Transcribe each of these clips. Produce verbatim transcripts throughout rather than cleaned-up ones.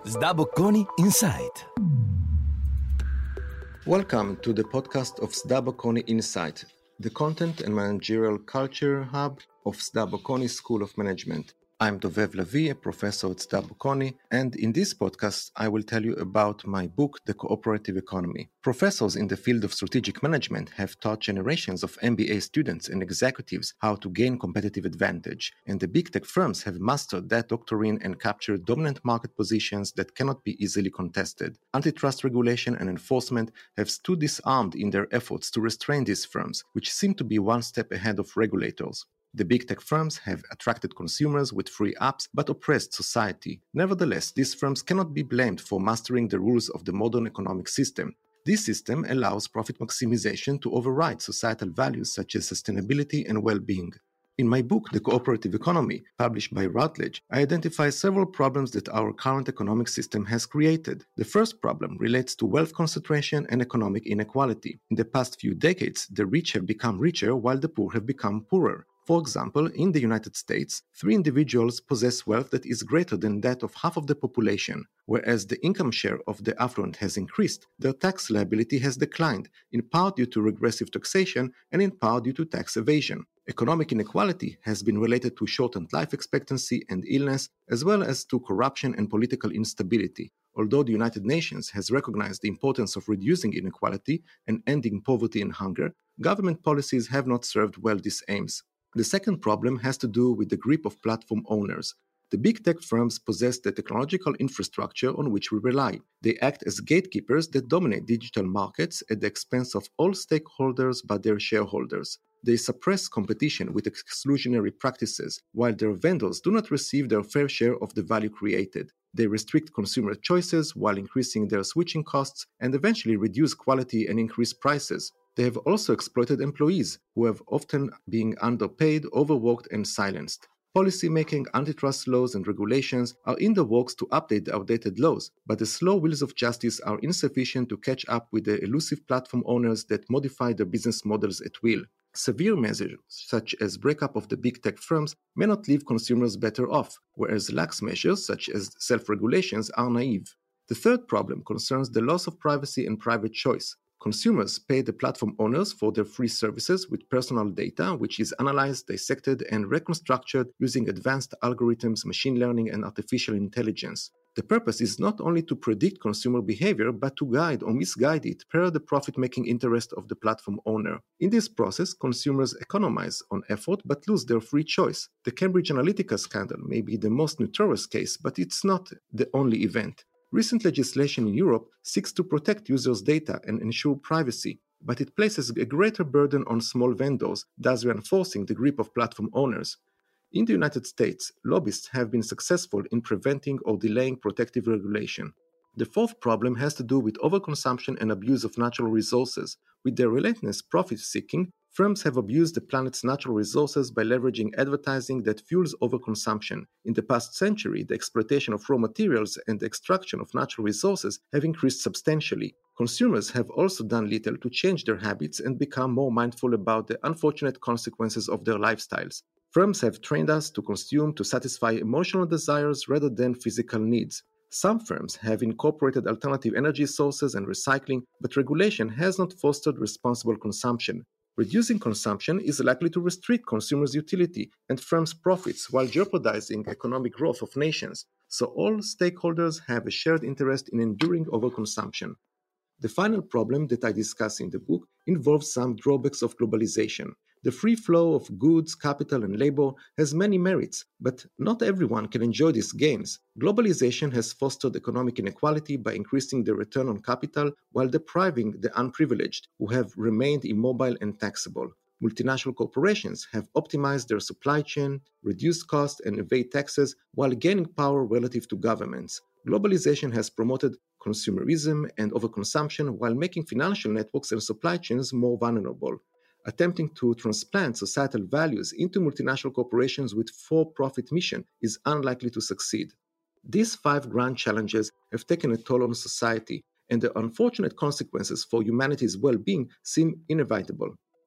Sdabocconi Insight. Welcome to the podcast of Sdabocconi Insight, the content and managerial culture hub of Sdabocconi School of Management. I'm Dovev Lavi, a professor at Sdabocconi, and in this podcast, I will tell you about my book, The Cooperative Economy. Professors in the field of strategic management have taught generations of M B A students and executives how to gain competitive advantage, and the big tech firms have mastered that doctrine and captured dominant market positions that cannot be easily contested. Antitrust regulation and enforcement have stood disarmed in their efforts to restrain these firms, which seem to be one step ahead of regulators. The big tech firms have attracted consumers with free apps but oppressed society. Nevertheless, these firms cannot be blamed for mastering the rules of the modern economic system. This system allows profit maximization to override societal values such as sustainability and well-being. In my book, The Cooperative Economy, published by Routledge, I identify several problems that our current economic system has created. The first problem relates to wealth concentration and economic inequality. In the past few decades, the rich have become richer while the poor have become poorer. For example, in the United States, three individuals possess wealth that is greater than that of half of the population. Whereas the income share of the affluent has increased, their tax liability has declined, in part due to regressive taxation and in part due to tax evasion. Economic inequality has been related to shortened life expectancy and illness, as well as to corruption and political instability. Although the United Nations has recognized the importance of reducing inequality and ending poverty and hunger, government policies have not served well these aims. The second problem has to do with the grip of platform owners. The big tech firms possess the technological infrastructure on which we rely. They act as gatekeepers that dominate digital markets at the expense of all stakeholders but their shareholders. They suppress competition with exclusionary practices, while their vendors do not receive their fair share of the value created. They restrict consumer choices while increasing their switching costs and eventually reduce quality and increase prices. They have also exploited employees, who have often been underpaid, overworked, and silenced. Policy-making, antitrust laws, and regulations are in the works to update the outdated laws, but the slow wheels of justice are insufficient to catch up with the elusive platform owners that modify their business models at will. Severe measures, such as breakup of the big tech firms, may not leave consumers better off, whereas lax measures, such as self-regulations, are naive. The third problem concerns the loss of privacy and private choice. Consumers pay the platform owners for their free services with personal data, which is analyzed, dissected, and reconstructed using advanced algorithms, machine learning, and artificial intelligence. The purpose is not only to predict consumer behavior, but to guide or misguide it per the profit-making interest of the platform owner. In this process, consumers economize on effort but lose their free choice. The Cambridge Analytica scandal may be the most notorious case, but it's not the only event. Recent legislation in Europe seeks to protect users' data and ensure privacy, but it places a greater burden on small vendors, thus reinforcing the grip of platform owners. In the United States, lobbyists have been successful in preventing or delaying protective regulation. The fourth problem has to do with overconsumption and abuse of natural resources. With their relentless profit-seeking, firms have abused the planet's natural resources by leveraging advertising that fuels overconsumption. In the past century, the exploitation of raw materials and the extraction of natural resources have increased substantially. Consumers have also done little to change their habits and become more mindful about the unfortunate consequences of their lifestyles. Firms have trained us to consume to satisfy emotional desires rather than physical needs. Some firms have incorporated alternative energy sources and recycling, but regulation has not fostered responsible consumption. Reducing consumption is likely to restrict consumers' utility and firms' profits while jeopardizing economic growth of nations, so all stakeholders have a shared interest in enduring overconsumption. The final problem that I discuss in the book involves some drawbacks of globalization. The free flow of goods, capital, and labor has many merits, but not everyone can enjoy these gains. Globalization has fostered economic inequality by increasing the return on capital while depriving the unprivileged, who have remained immobile and taxable. Multinational corporations have optimized their supply chain, reduced costs, and evade taxes while gaining power relative to governments. Globalization has promoted consumerism and overconsumption while making financial networks and supply chains more vulnerable. Attempting to transplant societal values into multinational corporations with for-profit mission is unlikely to succeed. These five grand challenges have taken a toll on society, and the unfortunate consequences for humanity's well-being seem inevitable.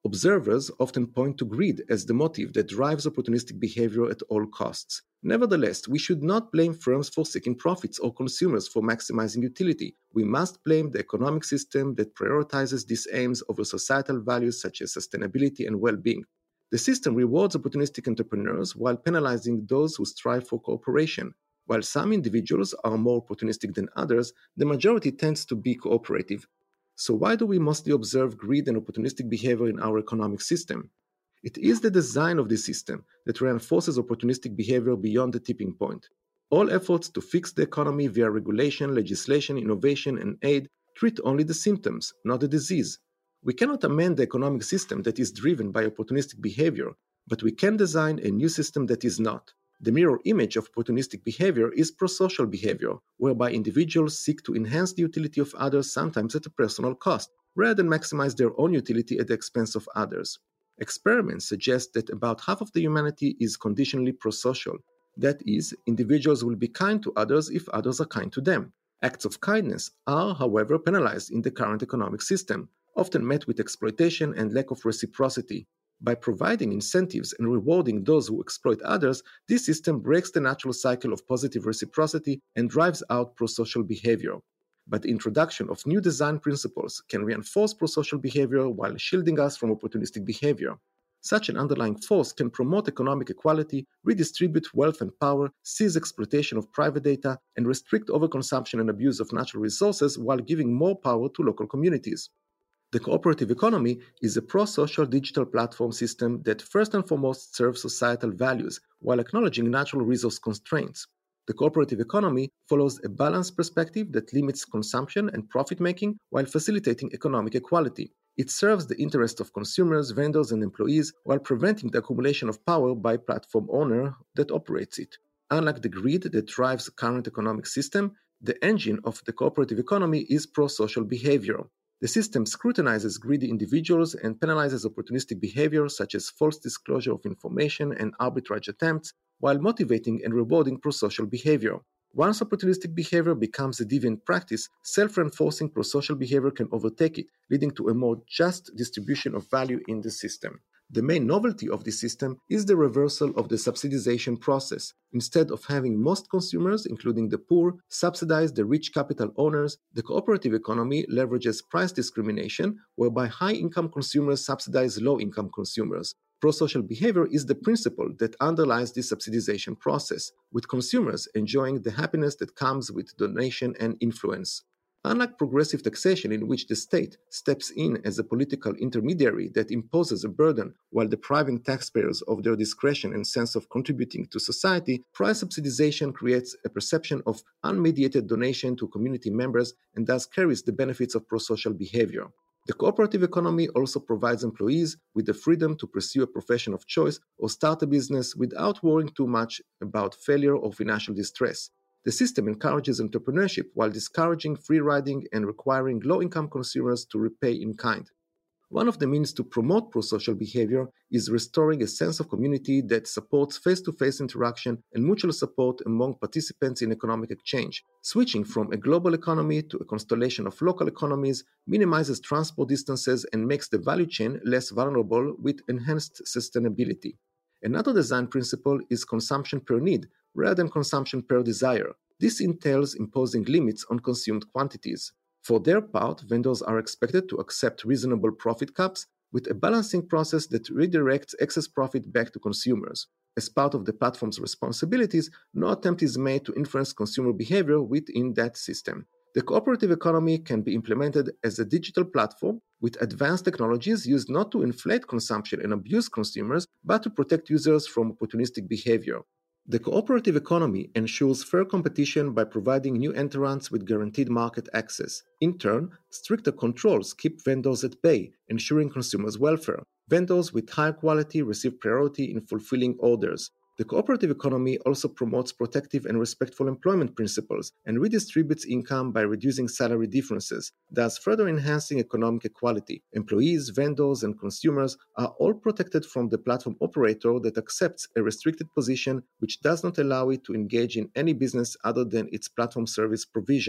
Observers often point to greed as the motive that drives opportunistic behavior at all costs. Nevertheless, we should not blame firms for seeking profits or consumers for maximizing utility. We must blame the economic system that prioritizes these aims over societal values such as sustainability and well-being. The system rewards opportunistic entrepreneurs while penalizing those who strive for cooperation. While some individuals are more opportunistic than others, the majority tends to be cooperative. So why do we mostly observe greed and opportunistic behavior in our economic system? It is the design of this system that reinforces opportunistic behavior beyond the tipping point. All efforts to fix the economy via regulation, legislation, innovation, and aid treat only the symptoms, not the disease. We cannot amend the economic system that is driven by opportunistic behavior, but we can design a new system that is not. The mirror image of opportunistic behavior is prosocial behavior, whereby individuals seek to enhance the utility of others, sometimes at a personal cost, rather than maximize their own utility at the expense of others. Experiments suggest that about half of the humanity is conditionally prosocial. That is, individuals will be kind to others if others are kind to them. Acts of kindness are, however, penalized in the current economic system, often met with exploitation and lack of reciprocity. By providing incentives and rewarding those who exploit others, this system breaks the natural cycle of positive reciprocity and drives out prosocial behavior. But the introduction of new design principles can reinforce prosocial behavior while shielding us from opportunistic behavior. Such an underlying force can promote economic equality, redistribute wealth and power, seize exploitation of private data, and restrict overconsumption and abuse of natural resources while giving more power to local communities. The cooperative economy is a pro-social digital platform system that first and foremost serves societal values while acknowledging natural resource constraints. The cooperative economy follows a balanced perspective that limits consumption and profit-making while facilitating economic equality. It serves the interests of consumers, vendors, and employees while preventing the accumulation of power by platform owner that operates it. Unlike the greed that drives the current economic system, the engine of the cooperative economy is pro-social behavior. The system scrutinizes greedy individuals and penalizes opportunistic behavior such as false disclosure of information and arbitrage attempts, while motivating and rewarding prosocial behavior. Once opportunistic behavior becomes a deviant practice, self-reinforcing prosocial behavior can overtake it, leading to a more just distribution of value in the system. The main novelty of this system is the reversal of the subsidization process. Instead of having most consumers, including the poor, subsidize the rich capital owners, the cooperative economy leverages price discrimination, whereby high-income consumers subsidize low-income consumers. Prosocial behavior is the principle that underlies this subsidization process, with consumers enjoying the happiness that comes with donation and influence. Unlike progressive taxation, in which the state steps in as a political intermediary that imposes a burden while depriving taxpayers of their discretion and sense of contributing to society, price subsidization creates a perception of unmediated donation to community members and thus carries the benefits of prosocial behavior. The cooperative economy also provides employees with the freedom to pursue a profession of choice or start a business without worrying too much about failure or financial distress. The system encourages entrepreneurship while discouraging free riding and requiring low-income consumers to repay in kind. One of the means to promote prosocial behavior is restoring a sense of community that supports face-to-face interaction and mutual support among participants in economic exchange. Switching from a global economy to a constellation of local economies minimizes transport distances and makes the value chain less vulnerable with enhanced sustainability. Another design principle is consumption per need, rather than consumption per desire. This entails imposing limits on consumed quantities. For their part, vendors are expected to accept reasonable profit caps with a balancing process that redirects excess profit back to consumers. As part of the platform's responsibilities, no attempt is made to influence consumer behavior within that system. The cooperative economy can be implemented as a digital platform with advanced technologies used not to inflate consumption and abuse consumers, but to protect users from opportunistic behavior. The cooperative economy ensures fair competition by providing new entrants with guaranteed market access. In turn, stricter controls keep vendors at bay, ensuring consumers' welfare. Vendors with higher quality receive priority in fulfilling orders. The cooperative economy also promotes protective and respectful employment principles and redistributes income by reducing salary differences, thus further enhancing economic equality. Employees, vendors, and consumers are all protected from the platform operator that accepts a restricted position which does not allow it to engage in any business other than its platform service provision.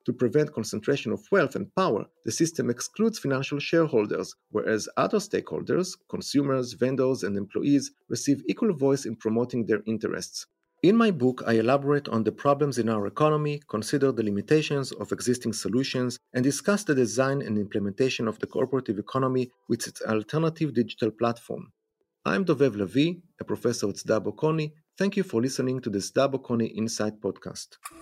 To prevent concentration of wealth and power, the system excludes financial shareholders, whereas other stakeholders, consumers, vendors, and employees, receive equal voice in promoting their interests. In my book, I elaborate on the problems in our economy, consider the limitations of existing solutions, and discuss the design and implementation of the cooperative economy with its alternative digital platform. I'm Dovev Levi, a professor at Sda Bocconi. Thank you for listening to the Sda Bocconi Insight podcast.